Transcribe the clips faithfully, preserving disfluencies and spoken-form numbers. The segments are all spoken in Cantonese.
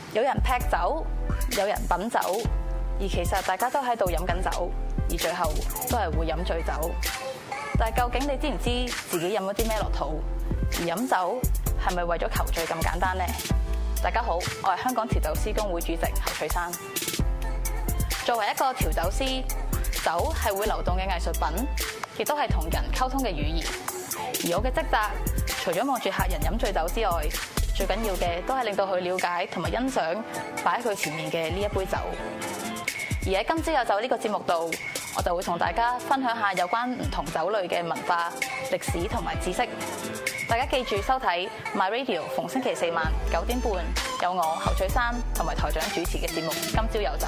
有人劈酒，有人品酒，而其實大家都喺度飲緊酒，而最後都係會飲醉酒。但係究竟你知唔知自己飲咗啲咩落肚？而飲酒係咪為咗求醉咁簡單呢？大家好，我係香港調酒師公會主席侯翠珊。作為一個調酒師，酒係會流動嘅藝術品，亦都係同人溝通嘅語言。而我嘅職責，除咗望住客人飲醉酒之外，最緊要嘅都係令到佢了解同埋欣賞擺喺佢前面嘅呢一杯酒。而喺今朝有酒呢個節目度，我就會同大家分享下有關唔同酒類嘅文化、歷史同埋知識。大家記住收睇 My Radio， 逢星期四晚九點半有我侯翠珊同埋台長主持嘅節目《今朝有酒》。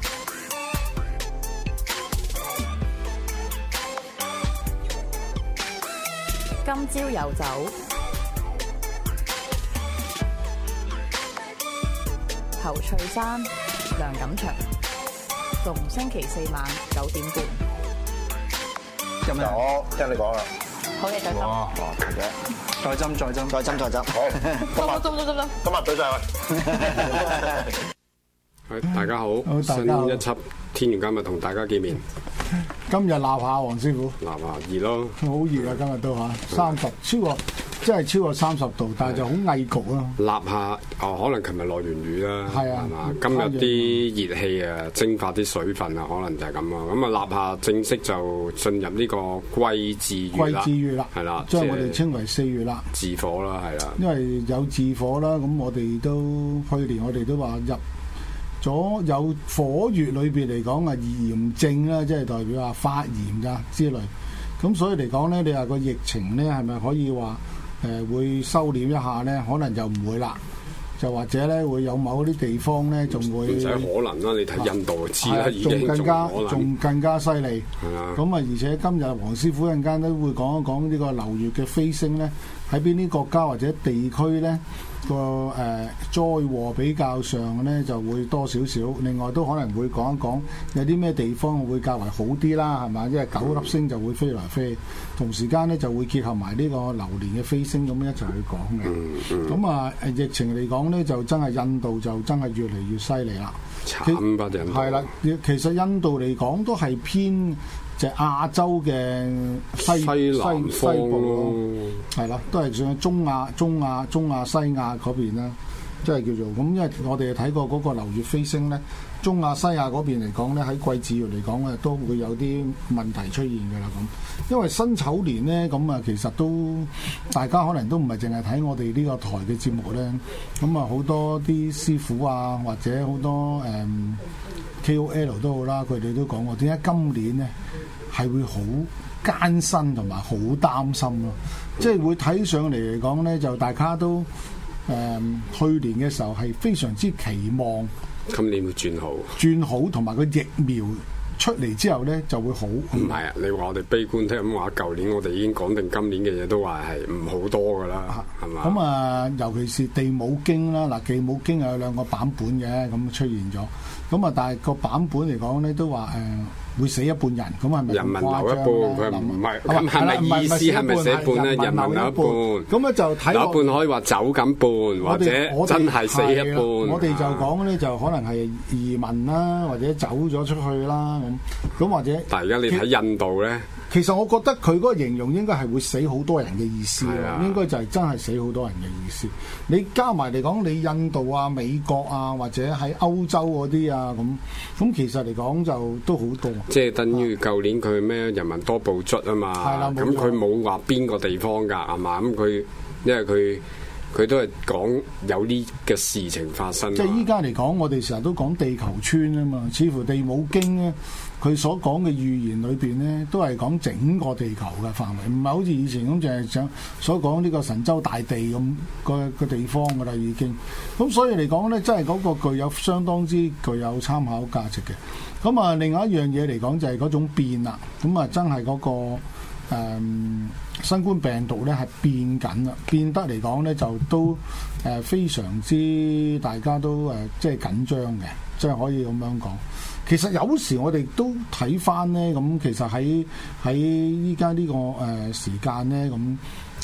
今朝有酒，侯翠珊、梁錦祥，逢星期四晚九點半。 咁啊，我聽你講啦。 好嘢，再斟。 哇，強嘅。 再斟，再斟， 再斟，再斟。好， 今日斟斟斟斟。 今日對晒佢。 係，大家好， 好新一輯天玄今日同大家見面。 今日鬧下黃師傅， 鬧下熱咯， 好熱啊！今日都嚇三十，超過即係超過三十度，但係就好翳焗咯。 立下哦，可能琴日落完雨啦， 係啊， 係嘛？今日啲熱氣啊，蒸發啲水分啊，可能就係咁啊。咁啊，立下正式就進入呢個季至月啦， 季至月啦， 係啦， 將我哋稱為四月啦， 自火啦，係啦。 因為有自火啦，咁我哋都去年我哋都話入咗有火月裏邊嚟講啊，炎症啦，即係代表話發炎㗎之類。咁所以嚟講咧，你話個疫情咧係咪可以話誒、呃、會收斂一下咧？可能就唔會啦，就或者咧會有某啲地方咧仲會唔使可能啦，你睇印度就知啦，已經仲更加仲仲更加犀利。 係啊， 咁啊，而且今日黃師傅一陣間都會講一講呢個流月嘅飛星咧，喺邊啲國家或者地區咧個誒災禍比較上咧就會多少少。另外都可能會講一講有啲咩地方會較為好啲啦，係嘛？因為九粒星就會飛來飛，同時間咧就會結合埋呢個流年嘅飛星咁一齊去講嘅。咁啊誒疫情嚟講咧，就真係印度就真係越嚟越犀利啦。 慘吧印度。 係啦，其實印度嚟講都係偏就係亞洲嘅西西南方咯， 係啦，都係上中亞、中亞、中亞西亞嗰邊啦，即係叫做咁。因為我哋睇過嗰個流月飛星咧，中亞西亞嗰邊嚟講咧，喺季至月嚟講咧，都會有啲問題出現㗎啦。咁因為辛丑年咧，咁啊其實都大家可能都唔係淨係睇我哋呢個台嘅節目咧，咁啊好多啲師傅啊，或者好多誒、嗯、K O L 都好啦，佢哋都講過點解今年咧係會好艱辛同埋好擔心咯，即係會睇上嚟嚟講咧，就大家都誒、嗯、去年嘅時候係非常之期望今年會轉好， 轉好同埋個疫苗出嚟之後咧就會好。 唔係啊，你話我哋悲觀聽咁話，舊年我哋已經講定今年嘅嘢都話係唔好多噶啦，係嘛？ 咁啊，尤其是地母經啦，嗱地母經有兩個版本嘅，咁出現咗，咁啊，但係個版本嚟講咧都話誒。呃會死一半人，咁係咪人民留一半？佢唔係，咁係咪意思係咪死一半咧？人民留一半， 咁咧就睇留一半可以話走緊半，或者真係死一半。 我哋就講咧，就可能係移民啦，或者走咗出去啦，咁咁或者。 但係而家你睇印度咧， 其實我覺得佢嗰個形容應該係會死好多人嘅意思咯，應該就係真係死好多人嘅意思。你加埋嚟講，你印度啊、美國啊，或者喺歐洲嗰啲啊，咁咁其實嚟講就都好多。 即係等於舊年佢咩人民多報卒啊嘛，咁佢冇話邊個地方㗎係嘛？咁佢因為佢佢都係講有呢嘅事情發生。 即係依家嚟講，我哋成日都講地球村啊嘛，似乎地母經咧，佢所講嘅預言裏邊咧，都係講整個地球嘅範圍，唔係好似以前咁淨係想所講呢個神州大地咁個個地方㗎啦已經。咁所以嚟講咧，真係嗰個具有相當之具有參考價值嘅。咁啊，另外一樣嘢嚟講就係嗰種變啦。咁啊，真係嗰個誒新冠病毒咧係變緊啦，變得嚟講咧就都誒非常之大家都誒即係緊張嘅，即係可以咁樣講。其實有時我哋都睇翻咧，咁其實喺喺依家呢個誒時間咧，咁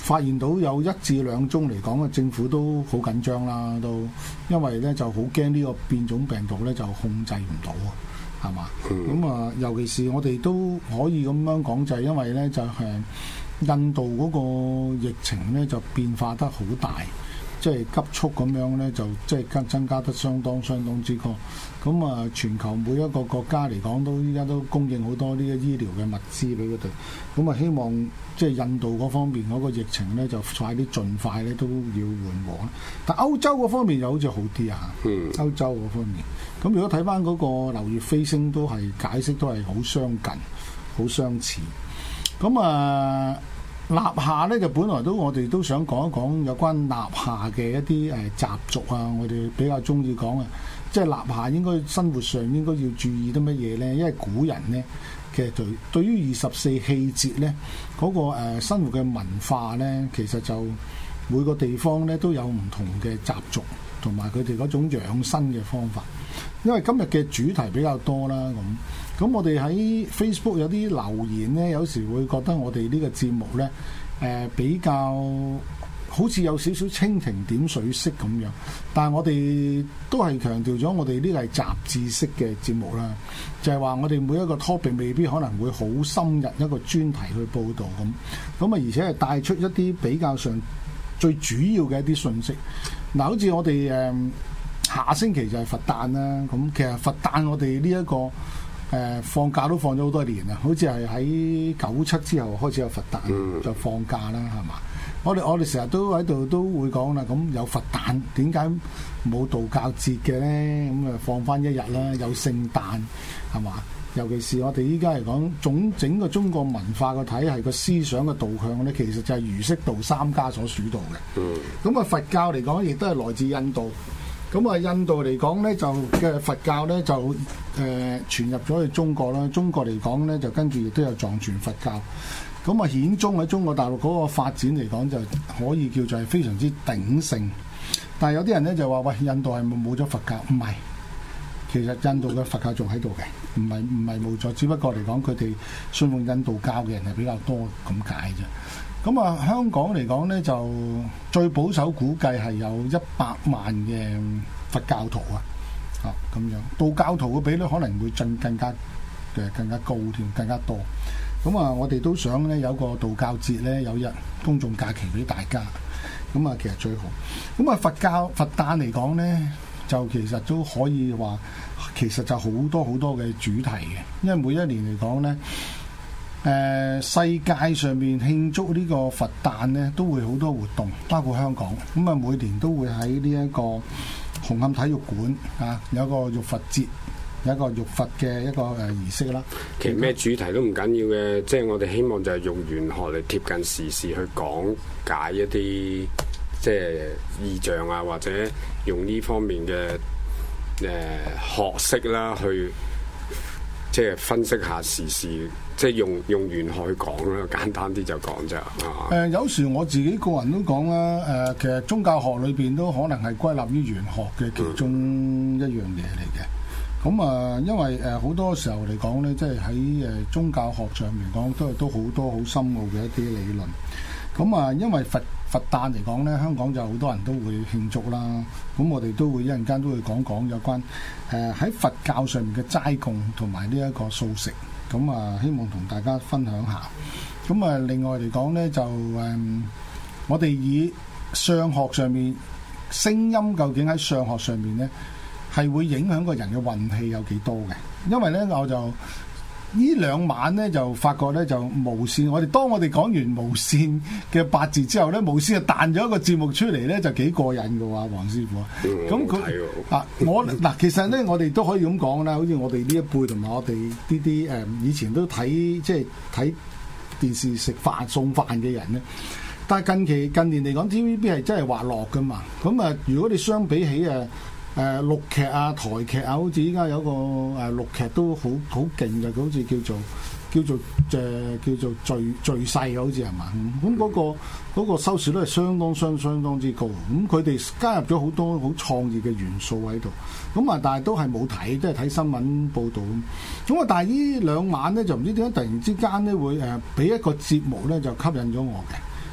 發現到有一至兩宗嚟講，政府都好緊張啦，都因為咧就好驚呢個變種病毒咧就控制唔到啊，係嘛？咁啊、嗯，尤其是我哋都可以咁樣講，就係因為咧就係印度嗰個疫情咧就變化得好大。即係急速咁樣咧，就即係增增加得相當相當之高。咁啊，全球每一個國家嚟講，都依家都供應好多呢個醫療嘅物資俾佢哋。咁啊，希望即係印度嗰方面嗰個疫情咧，就快啲盡快咧都要緩和。但歐洲嗰方面又好似好啲啊。嗯。歐洲嗰方面，咁如果睇翻嗰個流月飛星，都係解釋都係好相近、好相似。咁啊。納夏咧就本來都我哋都想講一講有關納夏嘅一啲誒習俗啊，我哋比較中意講啊，即係納夏應該生活上應該要注意啲乜嘢咧？因為古人咧其實對對於二十四氣節咧嗰個誒生活嘅文化咧，其實就每個地方咧都有唔同嘅習俗同埋佢哋嗰種養生嘅方法。因為今日嘅主題比較多啦，咁咁我哋喺 Facebook 有啲留言呢，有時會覺得我哋呢個節目呢，誒、呃、比較好似有少少蜻蜓點水式咁樣，但係我哋都係強調咗我哋呢個係雜誌式嘅節目啦，就係、是、話我哋每一個 topic 未必可能會好深入一個專題去報導咁，咁啊而且係帶出一啲比較上最主要嘅一啲信息。嗱，好似我哋誒。呃下星期就係佛誕啦，咁其實佛誕我哋呢一個誒、呃、放假都放咗好多年啦，好似係喺九七之後開始有佛誕、嗯、就放假啦，係嘛？我哋我哋成日都喺度都會講啦，咁有佛誕點解冇道教節嘅咧？咁啊放翻一日啦，有聖誕係嘛？尤其是我哋依家嚟講，總整個中國文化個體系個思想嘅導向咧，其實就係儒釋道三家所主導嘅。咁啊、嗯、佛教嚟講，亦都係來自印度。咁啊，印度嚟講咧，就嘅佛教咧就誒、呃、傳入咗去中國啦。中國嚟講咧，就跟住亦都有藏傳佛教。咁啊，顯宗喺中國大陸嗰個發展嚟講，就可以叫做係非常之鼎盛。但係有啲人咧就話：喂，印度係咪冇咗佛教？唔係，其實印度嘅佛教仲喺度嘅，唔係唔係冇咗。只不過嚟講，佢哋信奉印度教嘅人係比較多咁解啫。咁啊，香港嚟講咧，就最保守估計係有一百萬嘅佛教徒啊，啊咁樣，道教徒嘅比率可能會進更加嘅更加高添，更加多。咁啊，我哋都想咧有個道教節咧，有日公眾假期俾大家。咁啊，其實最好。咁啊，佛教佛誕嚟講咧，就其實都可以話，其實就好多好多嘅主題嘅，因為每一年嚟講咧。誒、呃、世界上面慶祝呢個佛誕呢，都會好多活動，包括香港。咁啊，每年都會喺呢一個紅磡體育館啊，有一個浴佛節，有一個浴佛嘅一個誒儀式啦。其實咩主題都唔緊要嘅，即係我哋希望就係用玄學嚟貼近時事去講解一啲即係意象啊，或者用呢方面嘅誒、呃、學識啦，去即係分析下時事。即係用用玄學去講啦，簡單啲就講啫。誒、呃，有時我自己個人都講啦。誒、呃，其實宗教學裏邊都可能係歸納於玄學嘅其中一樣嘢嚟嘅。咁啊、呃，因為誒好、呃、多時候嚟講咧，即係喺誒宗教學上面講，都係都好多好深奧嘅一啲理論。咁啊、呃，因為佛佛誕嚟講咧，香港就好多人都會慶祝啦。咁我哋都會一陣間都會講講有關誒喺、呃、佛教上面嘅齋供同埋呢一個素食。咁啊，希望同大家分享下。咁啊，另外嚟講咧，就誒、嗯，我哋以相學上面聲音究竟喺相學上面咧，係會影響個人嘅運氣有幾多嘅？因為咧，我就呢兩晚咧就發覺咧就無線，我哋當我哋講完無線嘅八字之後咧，無線就彈咗一個節目出嚟咧，就幾過癮嘅喎，黃師傅。咁佢、嗯、啊，我嗱其實咧，我哋都可以咁講啦，好似我哋呢一輩同埋我哋呢啲誒以前都睇即係睇電視食飯送飯嘅人咧，但係近期近年嚟講 T V B 係真係滑落㗎嘛。咁啊，如果你相比起誒，誒陸劇啊、台劇啊，好似依家有個誒陸劇都好好勁嘅，好似叫做叫做誒、呃、叫做聚聚勢好似係嘛？咁嗰、嗰個嗰個收視率係相當相相當之高。咁佢哋加入咗好多好創意嘅元素喺度。咁啊，但係都係冇睇，即係睇新聞報導咁。咁啊，但係呢兩晚咧就唔知點解突然之間咧會誒俾一個節目咧就吸引咗我嘅。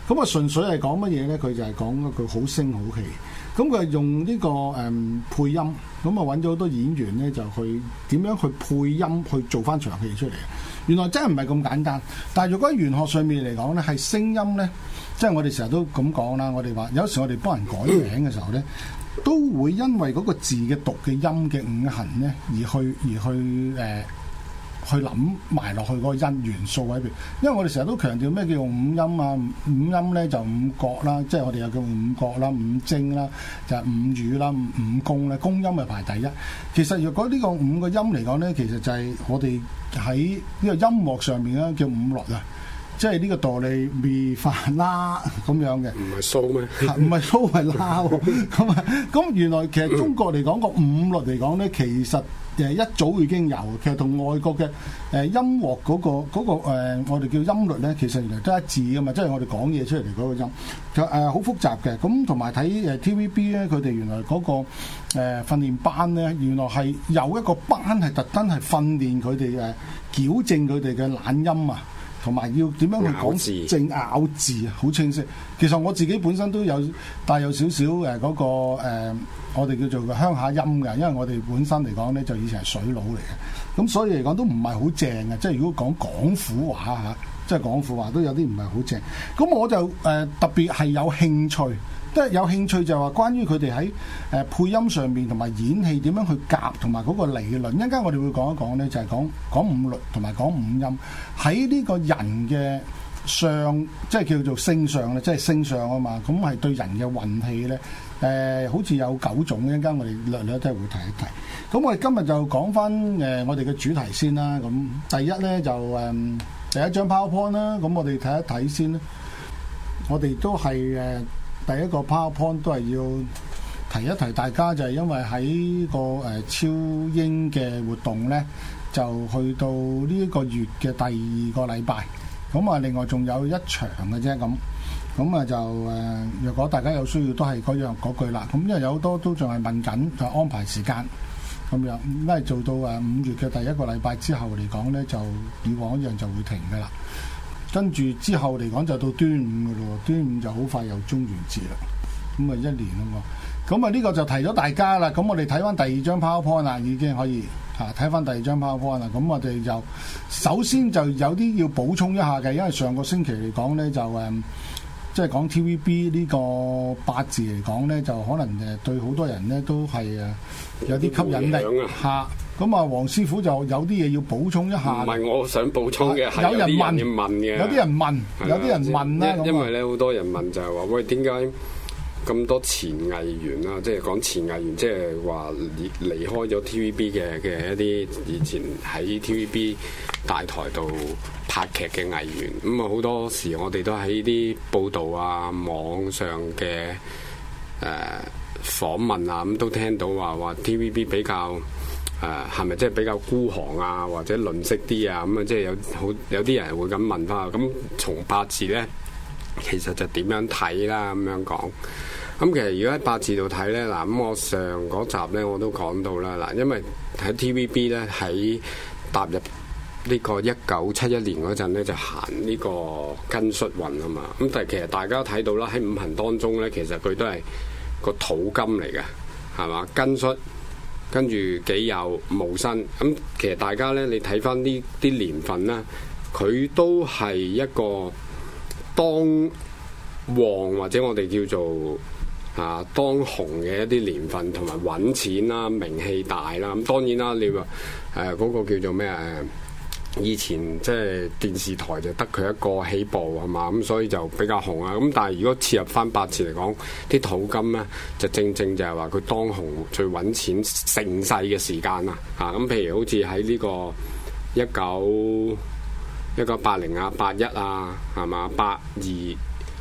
咁啊純粹係講乜嘢咧？佢就係講一句好聲好氣。咁佢係用呢、這個誒、嗯、配音，咁啊揾咗好多演員咧，就去點樣去配音去做翻場戲出嚟。原來真係唔係咁簡單。但係如果喺玄學上面嚟講咧，係聲音咧，即係我哋成日都咁講啦。我哋話有時我哋幫人改名嘅時候咧，都會因為嗰個字嘅讀嘅音嘅五行咧，而去而去誒。呃去諗埋落去嗰個音元素喺邊，因為我哋成日都強調咩叫用五音啊，五音咧就五角啦，即係我哋又叫五角啦、五精啦，就係、是、五語啦、五宮咧，宮音係排第一。其實如果呢個五個音嚟講咧，其實就係我哋喺呢個音樂上面咧叫五律啊，即係呢個哆唻咪發啦咁樣嘅。唔係蘇咩？唔係蘇係啦喎。咁啊，咁原來其實中國嚟講個五律嚟講咧，其實誒一早已經有，其實同外國嘅誒音樂嗰、嗰個嗰、嗰個呃、我哋叫音律咧，其實原來都一致噶嘛，即係我哋講嘢出嚟嗰個音，就誒好複雜嘅。咁同埋睇誒 T V B 咧，佢哋原來嗰、嗰個誒、呃、訓練班咧，原來係有一個班係特登係訓練佢哋誒矯正佢哋嘅懶音啊，同埋要點樣去講正咬字啊，好清晰。其實我自己本身都有帶有少少誒嗰個、呃、我哋叫做鄉下音嘅，因為我哋本身嚟講咧就以前係水佬嚟嘅，咁所以嚟講都唔係好正嘅。即係如果講廣府話嚇，即係廣府話都有啲唔係好正。咁我就誒、呃、特別係有興趣，即係有興趣就係話關於佢哋喺誒配音上面同埋演戲點樣去夾，同埋嗰個理論。一陣間我哋會講一講咧，就係講講五律同埋講五音喺呢個人嘅相，即係叫做星相咧，即係星相啊嘛。咁係對人嘅運氣咧，誒、呃、好似有九種。一陣間我哋略略都係會提一提。咁我哋今日就講翻誒我哋嘅主題先啦。咁第一咧就誒、呃、第一張 PowerPoint 啦。咁我哋睇一睇先啦。我哋都係誒。呃第一個 PowerPoint 都係要提一提大家，就係因為喺個誒超英嘅活動咧，就去到呢一個月嘅第二個禮拜，咁啊另外仲有一場嘅啫，咁咁啊就誒，若果大家有需要都係嗰樣嗰句啦。咁因為有好多都仲係問緊，就安排時間咁樣，因為做到誒五月嘅第一個禮拜之後嚟講咧，就以往一樣就會停㗎啦。跟住之後嚟講就到端午嘅咯，端午就好快又中元節啦，咁啊一年啊嘛，咁啊呢個就提咗大家啦。咁我哋睇翻第二張 PowerPoint 啦，已經可以嚇睇翻第二張 PowerPoint 啦。咁我哋就首先就有啲要補充一下嘅，因為上個星期嚟講咧就誒，即係講 T V B 呢個八字嚟講咧，就可能誒對好多人咧都係誒有啲吸引力嚇。咁啊，黃師傅就有啲嘢要補充一下。唔係我想補充嘅，係有人問嘅。有啲人問，有啲人問啦。因為咧，好多人問就係話：喂，點解咁多前藝員啊？即係講前藝員，即係話離離開咗 T V B 嘅嘅一啲以前喺 T V B 大台度拍劇嘅藝員。咁啊，好多時我哋都喺啲報道啊、網上嘅誒訪問啊，咁都聽到話話 T V B 比較。誒係咪即係比較孤寒啊，或者吝嗇啲啊？咁啊，即係有好有啲人會咁問翻。咁從八字咧，其實就點樣睇啦？咁樣講。咁其實如果喺八字度睇咧，嗱咁我上嗰集咧我都講到啦。嗱，因為喺 T V B 咧喺踏入呢個一九七一年嗰陣咧，就行呢個庚戌運啊嘛。咁但係其實大家睇到啦，喺五行當中咧，其實佢都係個土金嚟嘅，係嘛？庚戌。跟住己酉戊申，咁其實大家咧，你睇翻呢啲年份咧，佢都係一個當旺或者我哋叫做啊當紅嘅一啲年份，同埋揾錢啦、名氣大啦。咁當然啦，你話誒嗰個叫做咩誒？以前即係電視台就得佢一個起步係嘛，咁所以就比較紅啊。咁但係如果切入翻八字嚟講，啲土金咧就正正就係話佢當紅最揾錢盛世嘅時間啦。嚇咁譬如好似喺呢個一九一九八零啊、八一啊係嘛、八二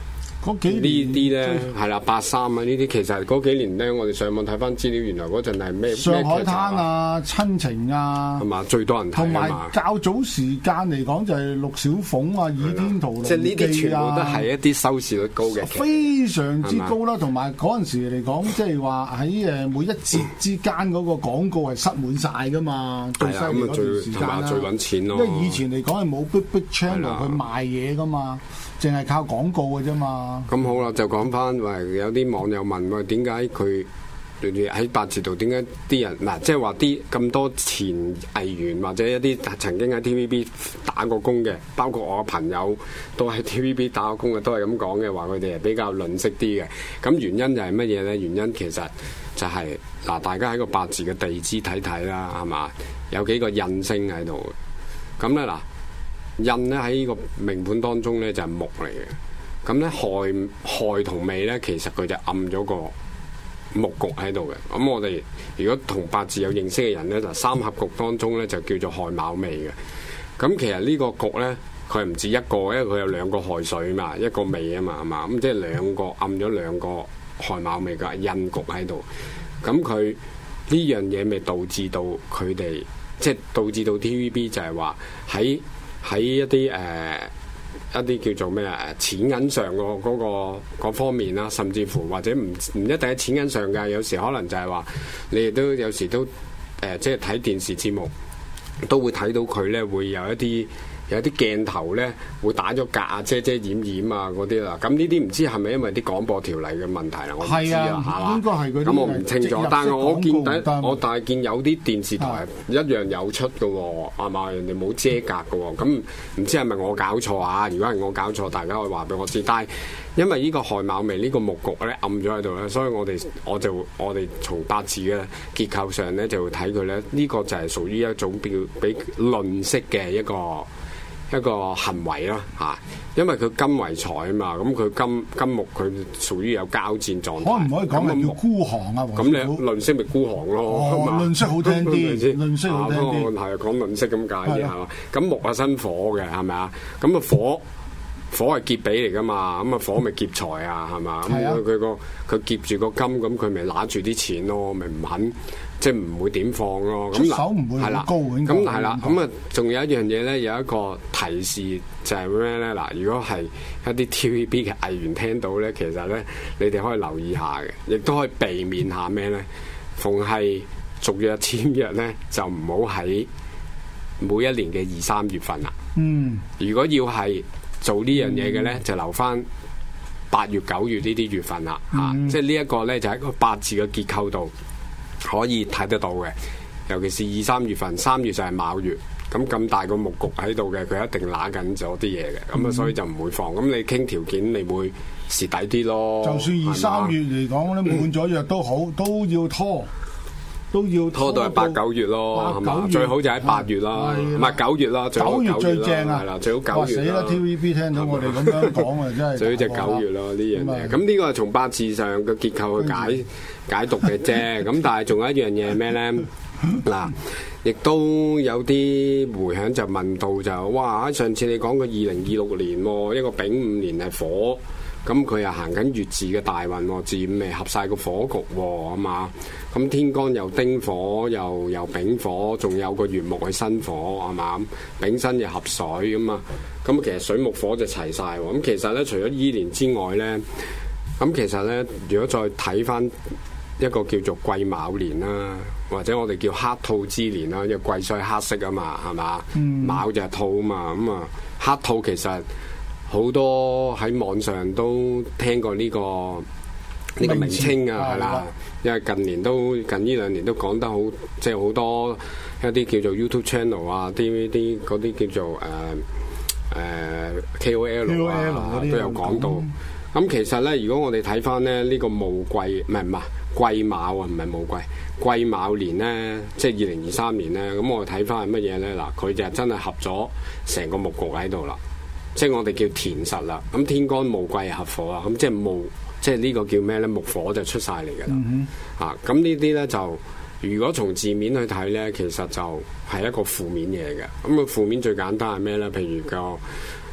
嗰幾年呢啲咧係啦，八三啊呢啲其實嗰幾年咧，我哋上網睇翻資料，原來嗰陣係咩上海灘啊、親情啊， 係嘛最多人睇同埋較早時間嚟講就係陸小鳳啊、倚天屠龍記啊， 即係呢啲全部都係一啲收視率高嘅， 非常之高啦。同埋嗰陣時嚟講，即係話喺誒每一節之間嗰個廣告係塞滿晒㗎嘛，最犀利嗰段時間啦。 最揾錢咯， 因為以前嚟講係冇 big big channel 去賣嘢㗎嘛。淨係靠廣告嘅啫嘛。 咁好啦，就講翻喂，有啲網友問喂，點解佢喺八字度點解啲人嗱，即係話啲咁多前藝員或者一啲曾經喺 T V B 打過工嘅，包括我嘅朋友都喺 T V B 打過工嘅，都係咁講嘅話，佢哋係比較吝嗇啲嘅。咁原因就係乜嘢咧？原因其實就係、是、嗱，大家喺個八字嘅地支睇睇啦，係嘛？有幾個印星喺度嘅。咁咧嗱。印咧喺呢個命盤當中咧就係木嚟嘅，咁咧亥亥同未咧其實佢就暗咗個木局喺度嘅。咁我哋如果同八字有認識嘅人咧，就三合局當中咧就叫做亥卯未嘅。咁其實呢個局咧佢唔止一個，因為佢有兩個亥水嘛，一個未啊嘛，係嘛？咁即係兩個暗咗兩個亥卯未嘅印局喺度。咁佢呢樣嘢咪導致到佢哋即係導致到 T V B 就係話喺喺一啲誒、呃、一啲叫做咩啊錢銀上個嗰個嗰方面啦，甚至乎或者唔唔一定係錢銀上㗎，有時可能就係話你哋都有時都誒、呃、即係睇電視節目都會睇到佢咧會有一啲有啲鏡頭咧會打咗格啊遮遮掩掩啊嗰啲啦。咁呢啲唔知係咪因為啲廣播條例嘅問題啦？我唔知啊，係嘛？應該係嗰啲。咁我唔清楚，但係我見第我但係見有啲電視台一樣有出嘅喎，係嘛？人哋冇遮格嘅喎，咁唔知係咪我搞錯啊？如果係我搞錯，大家可以話俾我知。但係因為呢個亥卯未呢個木局咧暗咗喺度咧，所以我哋我就我哋從八字嘅結構上咧就會睇佢咧，呢、呢個就係屬於一種比比吝嗇嘅一個。一個行為啦嚇，因為佢金為財啊嘛，咁佢金金木佢屬於有交戰狀態。可唔可以講係叫孤寒啊？咁你吝嗇咪孤寒咯？哦，吝嗇好聽啲，吝嗇好聽啲。係講吝嗇咁解啫係嘛？咁木係生火嘅係咪啊？咁啊火火係劫比嚟噶嘛？咁啊火咪劫財啊係嘛？咁佢佢個佢劫住個金，咁佢咪揦住啲錢咯，咪唔肯。即係唔會點放咯，咁手唔會好高嘅。咁係啦，咁啊，仲有一樣嘢咧，有一個提示就係咩咧？嗱，如果係一啲 T V B 嘅藝員聽到咧，其實咧，你哋可以留意下嘅，亦都可以避免下咩咧？逢係續約簽約咧，就唔好喺每一年嘅二三月份啦。嗯，如果要係做呢樣嘢嘅咧，嗯、就留翻八月、九月呢啲月份啦。嚇、嗯，即係呢一個咧，就喺個八字嘅結構度。可以睇得到嘅，尤其是二三月份，三月就係卯月，咁咁大個木局喺度嘅，佢一定揦緊咗啲嘢嘅，咁啊、嗯、所以就唔會放。咁你傾條件，你會蝕底啲咯。就算二三月嚟講咧，滿咗約都好，都要拖，都要拖，拖到係八九月咯，係嘛？最好就喺八月啦，唔係九月啦，九月最正啊，係啦，最好九月啦。死啦 ！T V B 聽到我哋咁樣講啊，真係最好就九月咯呢樣嘢。咁呢個係從八字上嘅結構去解。解讀嘅啫，咁但係仲有一樣嘢係咩咧？嗱，亦都有啲迴響就問到就，哇！上次你講個二零二六年喎，一個丙午年係火，咁佢又行緊月字嘅大運喎，字午未合晒個火局喎，係嘛？咁天干又丁火，又又丙火，仲有個月木係新火，係嘛？丙辛又合水咁啊，咁其實水木火就齊晒喎。咁其實咧，除咗依年之外咧，咁其實咧，如果再睇翻。一個叫做癸卯年啦，或者我哋叫黑兔之年啦，因為癸水黑色啊嘛，係嘛？嗯、卯就係兔啊嘛，咁啊黑兔其實好多喺網上都聽過呢、呢個呢名詞個名稱啊，係啦，因為近年都近呢兩年都講得好，即係好多一啲叫做 YouTube channel 啊，D V D 嗰啲叫做誒誒、呃呃、K O L 啊都有講到。咁、嗯、其實咧，如果我哋睇翻咧呢、呢個戊癸唔係唔係。癸卯啊，唔係戊癸，癸卯年咧，即係二零二三年咧。咁我哋睇翻係乜嘢咧？嗱，佢就真係合咗成個木局喺度啦，即係我哋叫田實啦。咁天干戊癸合火啊，咁即係木，即係呢個叫咩咧？木火就出晒嚟㗎啦。嗯、哼啊，咁呢啲咧就如果從字面去睇咧，其實就係一個負面嘢嘅。咁個負面最簡單係咩咧？譬如個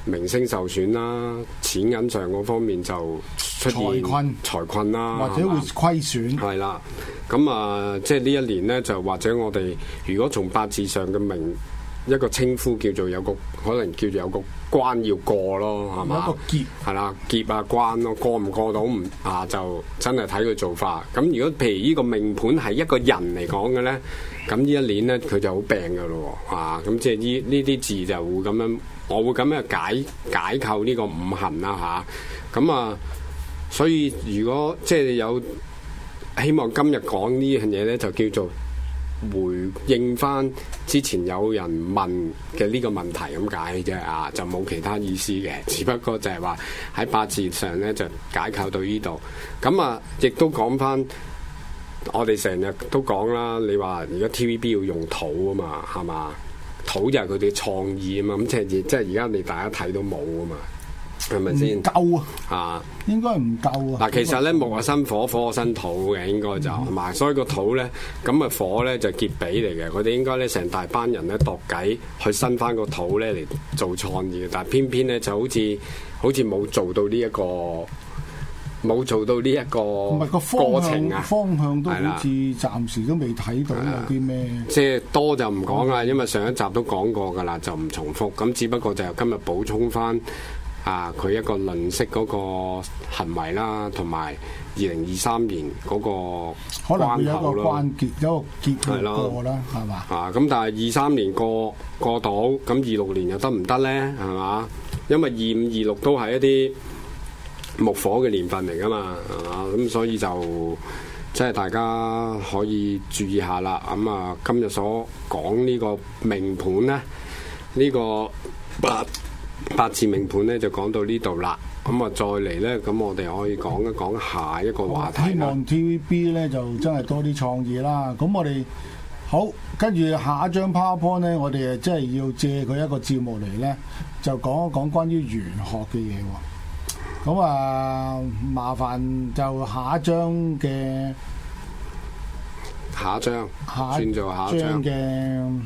名聲受損啦，錢銀上嗰方面就出現財困財困啦， 或者會虧損。 係啦，咁啊，即係呢一年咧，就或者我哋如果從八字上嘅名一個稱呼叫做有個可能叫做有個關要過咯，係嘛？ 有一個劫係啦，劫啊關咯，過唔過到唔啊就真係睇佢做法。咁如果譬如呢個命盤係一個人嚟講嘅咧，咁呢一年咧佢就好病㗎咯喎，啊咁即係呢呢啲字就會咁樣，我會咁樣解解構呢個五行啦吓，咁啊，所以如果即係有希望今日講呢樣嘢咧，就叫做回應翻之前有人問嘅呢個問題咁解啫啊，就冇其他意思嘅，只不過就係話喺八字上咧就解構到呢度。咁啊，亦都講翻我哋成日都講啦，你話而家 T V B 要用土啊嘛，係嘛？土就係佢哋創意啊嘛，咁即係即係而家你大家睇到冇啊嘛。係咪先？ 唔夠啊！ 啊， 應該唔夠啊！ 嗱，其實咧木啊生火，火啊生土嘅，應該就係嘛、嗯。所以個土咧，咁啊火咧就劫比嚟嘅。佢哋應該咧成大班人咧度計去生翻個土咧嚟做創意嘅，但係偏偏咧就好似好似冇做到呢、這、一個冇做到呢一個過程啊！ 方向都好似暫時都未睇到有啲咩。 即係多就唔講啦，因為上一集都講過㗎啦，就唔重複。咁只不過就今日補充翻。啊！佢一個吝嗇嗰個行為啦，同埋二零二三年嗰個可能會有一個關口咯， 關結，有一個結要過啦，係嘛？ 啊！咁但係二三年過過到，咁二六年又得唔得咧？係嘛？因為二五二六都係一啲木火嘅年份嚟噶嘛，係嘛？咁所以就即係大家可以注意下啦。咁啊，今日所講呢個命盤咧，呢、呢個八。八字命盤咧就講到呢度啦，咁啊再嚟咧，咁我哋可以講一講下一個話題啦。 希望 T V B 咧就真係多啲創意啦。咁我哋好跟住下一張 PowerPoint 咧，我哋誒真係要借佢一個節目嚟咧，就講一講關於玄學嘅嘢喎。咁啊，麻煩就下一張嘅下一張，轉做下一張嘅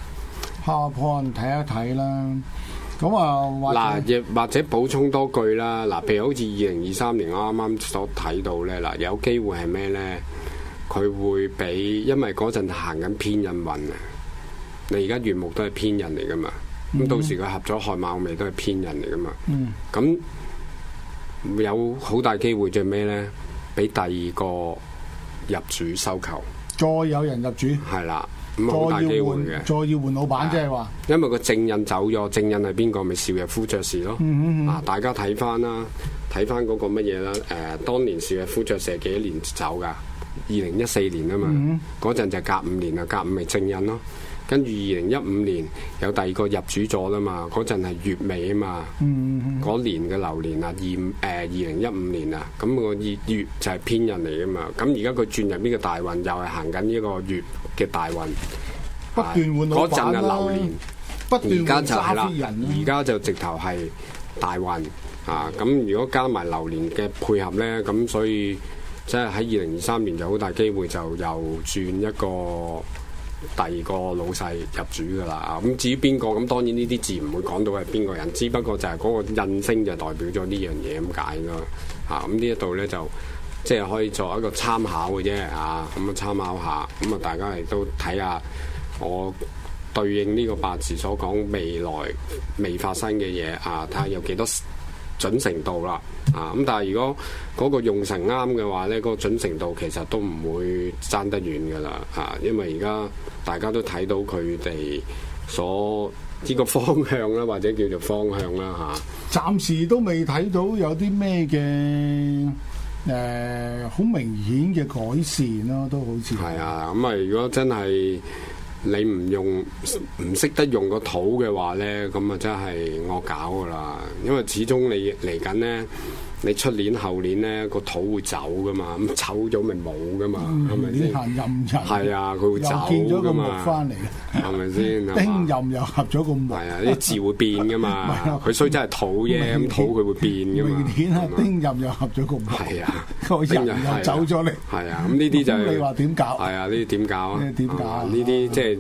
PowerPoint 睇一睇啦。咁啊， 嗱，亦或者補充多句啦。嗱，譬如好似二零二三年啱啱所睇到咧，嗱，有機會係咩咧？佢會俾，因為嗰陣行緊偏印運啊。你而家月木都係偏印嚟噶嘛？咁、嗯、到時佢合咗亥卯未都係偏印嚟噶嘛？咁、嗯、有好大機會就係咩咧？俾第二個入主收購， 再有人入主， 係啦。咁好大機會嘅， 再要換老闆，即係話， 因為個正印走咗，正印係邊個？咪邵逸夫爵士咯。嗯嗯嗯啊，大家睇翻啦，睇翻嗰個乜嘢啦？誒、呃，當年邵逸夫爵士幾多年走㗎？二零一四年啊嘛，嗰陣、嗯、就隔五年啊，隔五咪正印咯。跟住二零一五年有第二個入主咗啦嘛，嗰陣係月尾啊嘛，嗰、嗯嗯、年嘅流年啊，二誒二零一五年啊，咁、個月月就係偏印嚟㗎嘛。咁而家佢轉入呢個大運，又係行緊呢個月嘅大運， 不斷換老闆啦。嗰陣係流年，不斷換揸飛人。 而家就直頭係大運啊！咁如果加埋流年嘅配合咧，咁所以即係喺二零二三年就好大機會就又轉一個第二個老細入主噶啦。咁至於邊個，咁當然呢啲字唔會講到係邊個人，只不過就係嗰個印星就代表咗呢樣嘢咁解咯。啊，咁呢一度咧就。即係可以作一個參考嘅啫，啊，咁啊參考下，咁啊大家亦都睇下我對應呢個八字所講未來未發生嘅嘢，啊，睇下有幾多準程度啦，啊，咁但係如果嗰個用神啱嘅話咧，嗰個準程度其實都唔會爭得遠噶啦，啊，因為而家大家都睇到佢哋所呢個方向啦，或者叫做方向啦，嚇。 暫時都未睇到有啲咩嘅。誒好、呃、明顯嘅改善咯，都好似係啊！咁啊，如果真係你唔用唔識得用個土嘅話咧，咁啊真係惡搞噶啦！因為始終你嚟緊咧，你出年後年咧個土會走噶嘛，咁走咗咪冇噶嘛，係咪先？ 行任人係啊，佢會走噶嘛。又見咗個木翻嚟， 係咪先？ 丁任又合咗個木。 係啊，啲字會變噶嘛。佢雖則係土啫，咁土佢會變噶嘛。 明年啊，丁任又合咗個木。 係啊， 個人又走咗嚟。 係啊，咁呢啲就係你話點搞？ 係啊，呢啲點搞啊？ 點搞？ 呢啲即係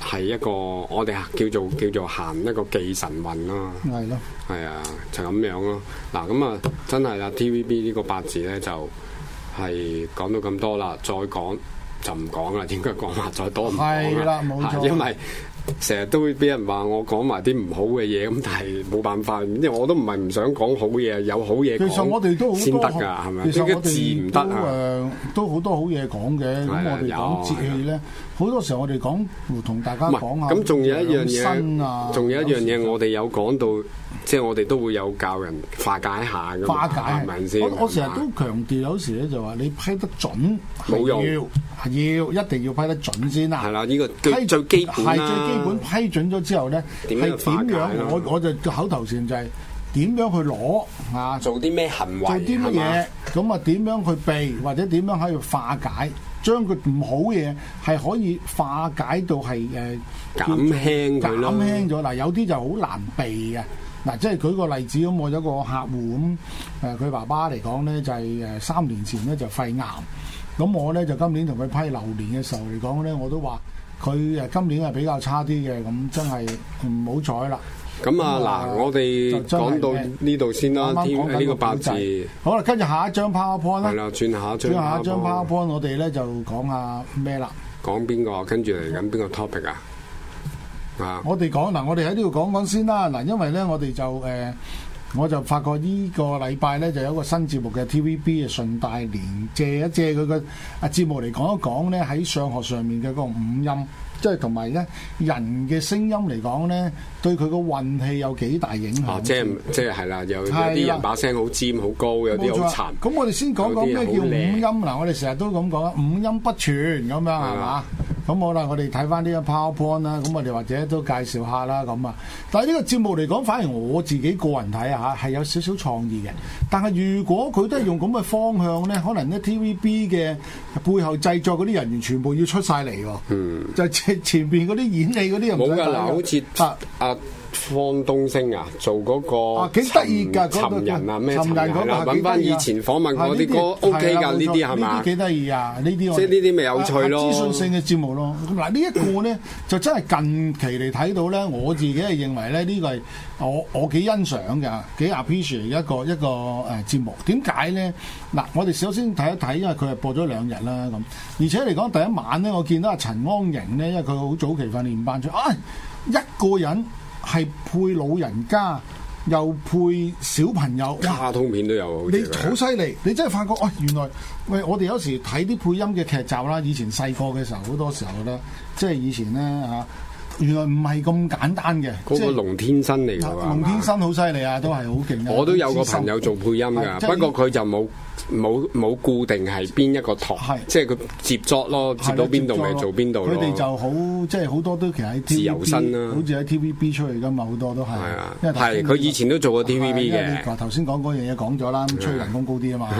係一個我哋叫做叫做行一個忌神運咯。 係咯， 係啊，就咁樣咯。嗱咁啊，真係啦 ，T V B 呢個八字咧就係講到咁多啦，再講就唔講啦，應該講話再多唔講啦。 係啦，冇錯。 因為成日都會俾人話我講埋啲唔好嘅嘢，咁但係冇辦法，因為我都唔係唔想講好嘢，有好嘢其實我哋都好多先得㗎，係咪？ 其實我字唔得啊， 誒都好多好嘢講嘅。咁我哋講節氣咧，好多時候我哋講同大家講下。 咁仲有一樣嘢，仲有一樣嘢，我哋有講到，即係我哋都會有教人化解下㗎。 化解係咪先？我我成日都強調，有時咧就話你批得準冇用， 要一定要批得準先啦。 係啦，呢個最最基本啦。 係最基本批準咗之後咧，係點樣？我我就口頭禪就係點樣去攞啊？ 做啲咩行為？ 做啲乜嘢？咁啊點樣去避，或者點樣喺度化解？將佢唔好嘢係可以化解到係誒減輕佢咯。 減輕咗嗱，有啲就好難避嘅嗱，即係舉個例子咁，我有個客戶咁誒，佢爸爸嚟講咧就係誒三年前咧就肺癌，咁我咧就今年同佢批流年嘅時候嚟講咧，我都話佢誒今年係比較差啲嘅，咁真係唔好彩啦。 咁啊嗱，我哋講到呢度先啦，呢個八字。 好啦，跟住下一張 PowerPoint 啦。 係啦，轉下一張。 轉下一張 PowerPoint，我哋咧就講下咩啦？ 講邊個？跟住嚟緊邊個 topic 啊？啊！ 我哋講嗱，我哋喺呢度講講先啦。嗱，因為咧，我哋就誒、呃，我就發覺呢個禮拜咧就有一個新節目嘅 T V B 嘅順帶連借一借佢個啊節目嚟講一講咧喺相學上面嘅嗰個五音。即係同埋咧，人嘅聲音嚟講咧，對佢個運氣有幾大影響？ 哦，即係即係係啦，有有啲人把聲好尖好高，有啲好沉。 咁我哋先講講咩叫五音嗱，我哋成日都咁講啊，五音不全咁樣係嘛？咁好啦，我哋睇翻呢個 PowerPoint 啦，咁我哋或者都介紹下啦咁啊。但係呢個節目嚟講，反而我自己個人睇啊嚇，係有少少創意嘅。但係如果佢都係用咁嘅方向咧，可能咧 T V B 嘅背後製作嗰啲人員全部要出晒嚟喎。嗯，就前前邊嗰啲演戲嗰啲又唔使冇㗎嗱，好似啊啊。方東升啊，做嗰個幾得意㗎， 尋人啊咩尋人嗰個揾翻以前訪問過啲歌 OK 㗎，呢啲係嘛？ 呢啲幾得意啊！呢啲即係呢啲咪有趣咯， 資訊性嘅節目咯。咁嗱，呢一個咧就真係近期嚟睇到咧，我自己係認為咧呢個係我我幾欣賞嘅，幾 appreciate 一個一個誒節目。點解咧？嗱，我哋首先睇一睇，因為佢係播咗兩日啦咁，而且嚟講第一晚咧，我見到阿陳安瑩咧，因為佢好早期訓練班出，啊一個人。係配老人家，又配小朋友， 卡通片都有。 你好犀利，你真係發覺，哦，原來喂，我哋有時睇啲配音嘅劇集啦，以前細個嘅時候，好多時候咧，即係以前咧嚇，原來唔係咁簡單嘅。 嗰個龍天生嚟㗎喎， 龍天生好犀利啊，都係好勁。 我都有個朋友做配音㗎，不過佢就冇。冇冇固定係邊一個台，即係佢接作咯，接到邊度咪做邊度咯。佢哋就好，即係好多都其實喺 T V B， 自由身啦，好似喺 T V B 出嚟噶嘛，好多都係。係啊，係佢以前都做過 T V B 嘅。頭先講嗰樣嘢講咗啦，吹人工高啲啊嘛。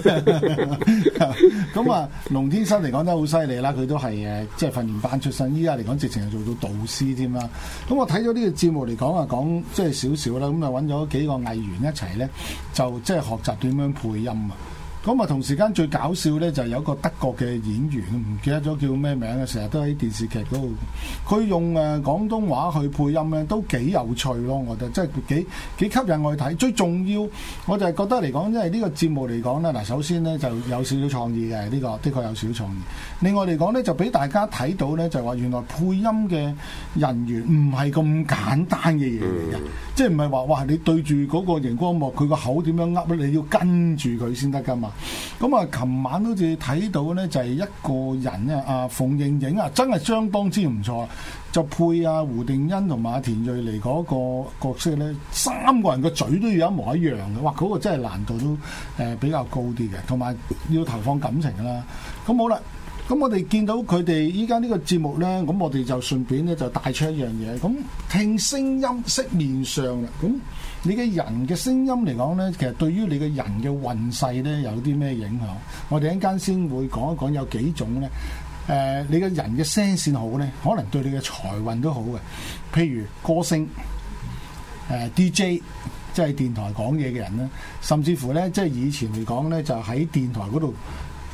咁啊，龍天生嚟講都好犀利啦，佢都係誒，即係訓練班出身。依家嚟講，直情係做到導師添啦。咁我睇咗呢個節目嚟講啊，講即係少少啦。咁啊揾咗幾個藝員一齊咧，就即係學習點樣配音啊。咁啊，同時間最搞笑咧，就係有一個德國嘅演員，唔記得咗叫咩名啊，成日都喺電視劇嗰度。佢用誒廣東話去配音咧，都幾有趣咯，我覺得，即係幾幾吸引我去睇。最重要，我就係覺得嚟講，因為呢個節目嚟講咧，嗱，首先咧就有少少創意嘅，呢個的確有少少創意。另外嚟講咧，就俾大家睇到咧，就係話原來配音嘅人員唔係咁簡單嘅嘢嚟嘅，即係唔係話哇你對住嗰個熒光幕，佢個口點樣噏咧，你要跟住佢先得噶嘛。咁啊，琴晚好似睇到咧，就係一個人咧，阿馮盈盈啊，真係相當之唔錯，就配阿胡定欣同埋阿田蕊妮嗰個角色咧，三個人個嘴都要一模一樣嘅，哇！嗰個真係難度都誒比較高啲嘅，同埋要投放感情啦。咁好啦。咁我哋見到佢哋依家呢個節目咧，咁我哋就順便咧就帶出一樣嘢。咁聽聲音識面相啦。咁你嘅人嘅聲音嚟講咧，其實對於你嘅人嘅運勢咧有啲咩影響？我哋一陣間先會講一講有幾種咧。誒、呃，你嘅人嘅聲線好咧，可能對你嘅財運都好嘅。譬如歌星、誒、呃、D J，即係電台講嘢嘅人咧，甚至乎咧，即係以前嚟講咧，就喺電台嗰度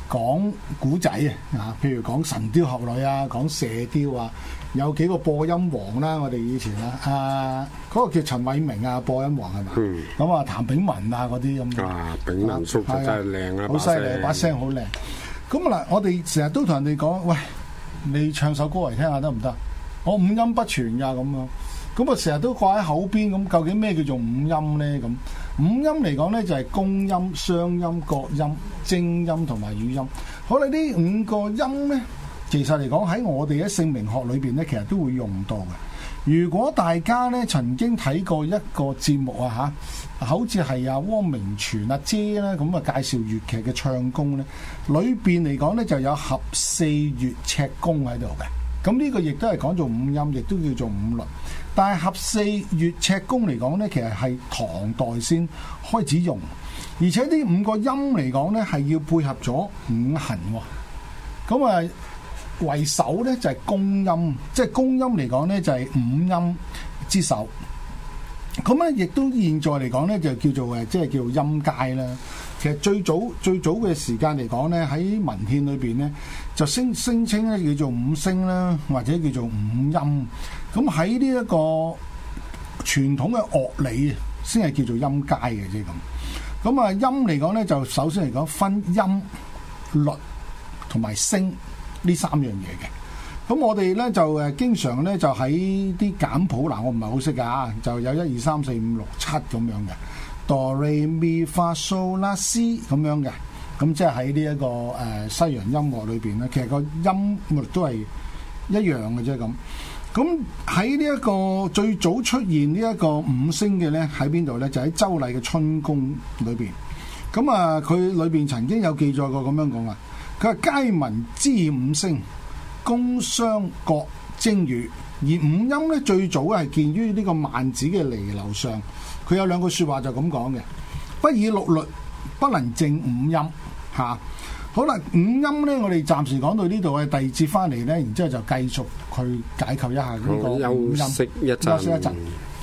講古仔啊，譬如講神雕俠侶啊，講射雕啊，有幾個播音王啦，我哋以前啦，啊嗰、那個叫陳偉明啊，播音王係嘛？咁、嗯、啊，譚炳文啊嗰啲咁。啊， 炳文叔就真係靚啊， 好犀利，把聲好靚。咁嗱，我哋成日都同人哋講，喂，你唱首歌嚟聽下得唔得？我五音不全㗎咁樣。咁啊，成日都掛喺口邊，咁究竟咩叫做五音咧？咁五音嚟講咧，就係公音、雙音、角音、正音同埋語音。好啦，呢五個音咧，其實嚟講喺我哋嘅姓名學裏邊咧，其實都會用到嘅。如果大家咧曾經睇過一個節目啊嚇，好似係阿汪明荃阿姐啦，咁啊介紹粵劇嘅唱功咧，裏邊嚟講咧就有合四粵赤宮喺度嘅。咁呢個亦都係講做五音，亦都叫做五律。但係合四粵赤宮嚟講咧，其實係唐代先開始用，而且呢五個音嚟講咧係要配合咗五行喎。咁啊為首咧就係公音，即係公音嚟講咧就係五音之首。咁咧亦都現在嚟講咧就叫做誒，即係叫做音階啦。其實最早最早嘅時間嚟講咧，喺文獻裏邊咧就聲聲稱咧叫做五聲啦，或者叫做五音。咁喺呢一個傳統嘅樂理先係叫做音階嘅啫咁。咁啊音嚟講咧，就首先嚟講分音、律同埋聲呢三樣嘢嘅。咁我哋咧就誒經常咧就喺啲簡譜嗱，我唔係好識㗎，就有一二三四五六七咁樣嘅。哆唻咪發嗦拉西咁樣嘅，咁即係喺呢一個誒、呃、西洋音樂裏邊咧，其實個音律都係一樣嘅啫咁。咁喺呢一個最早出現呢一個五聲嘅咧，喺邊度咧？就喺周禮嘅春宮裏邊。咁啊，佢裏邊曾經有記載過咁樣講啊，佢話皆聞之五聲，宮商角徵羽。而五音咧最早係見於呢個孟子嘅離婁上。佢有兩句説話就咁講嘅，不以六律，不能正五音嚇、啊。好啦，五音咧，我哋暫時講到呢度嘅，第二節翻嚟咧，然之後就繼續去解構一下呢個五音。 休息一陣。 休息一陣。